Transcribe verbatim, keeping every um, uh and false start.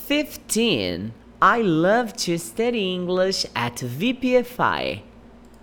fifteen. I love to study English at V P F I.